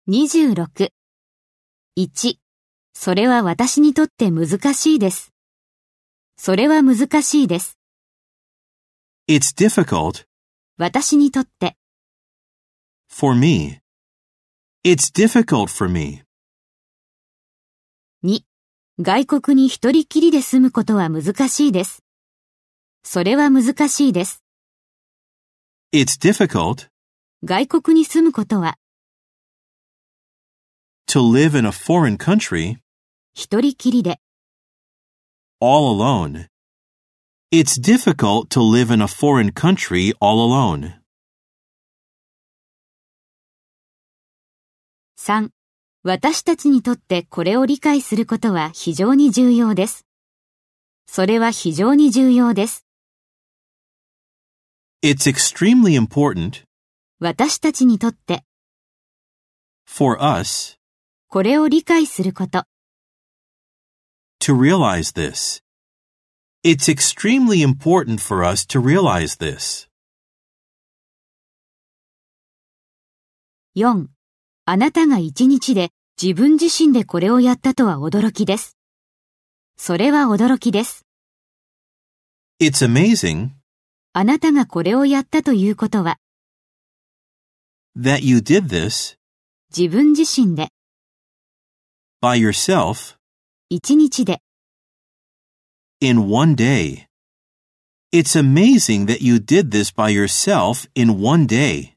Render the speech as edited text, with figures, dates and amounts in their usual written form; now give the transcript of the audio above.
26。1、それは私にとって難しいです。それは難しいです。 It's difficult 私にとって。 for me. It's difficult for me. 2、外国に一人きりで住むことは難しいです。それは難しいです。 It's difficult 外国に住むことは to live in a foreign country 一人きりで。 all alone. It's difficult to live in a foreign country all alone. 3、私たちにとってこれを理解することは非常に重要です。それは非常に重要です。 It's extremely important 私たちにとって for us これを理解すること。 to realize this. It's extremely important for us to realize this. 4、あなたが一日で自分自身でこれをやったとは驚きです。それは驚きです。 It's amazing あなたがこれをやったということは that you did this 自分自身で by yourself 一日で in one day. It's amazing that you did this by yourself in one day.